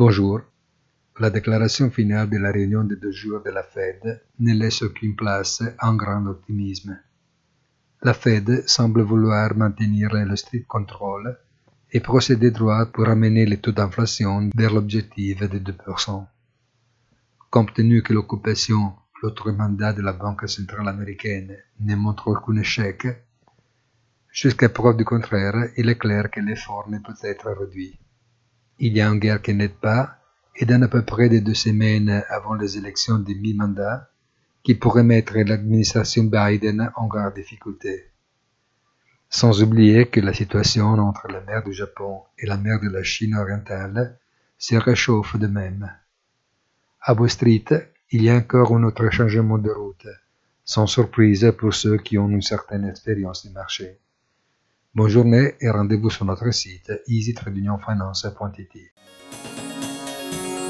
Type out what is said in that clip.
Bonjour. La déclaration finale de la réunion de 2 jours de la Fed ne laisse aucune place à un grand optimisme. La Fed semble vouloir maintenir le strict contrôle et procéder droit pour amener le taux d'inflation vers l'objectif de 2%. Compte tenu que l'occupation, l'autre mandat de la Banque centrale américaine, ne montre aucun échec, jusqu'à preuve du contraire, il est clair que l'effort ne peut être réduit. Il y a une guerre qui n'aide pas, et dans à peu près de 2 semaines avant les élections de mi-mandat, qui pourrait mettre l'administration Biden en grande difficulté. Sans oublier que la situation entre la mer du Japon et la mer de la Chine orientale se réchauffe de même. À Wall Street, il y a encore un autre changement de route, sans surprise pour ceux qui ont une certaine expérience du marché. Bonne journée et rendez-vous sur notre site easy-finance.it.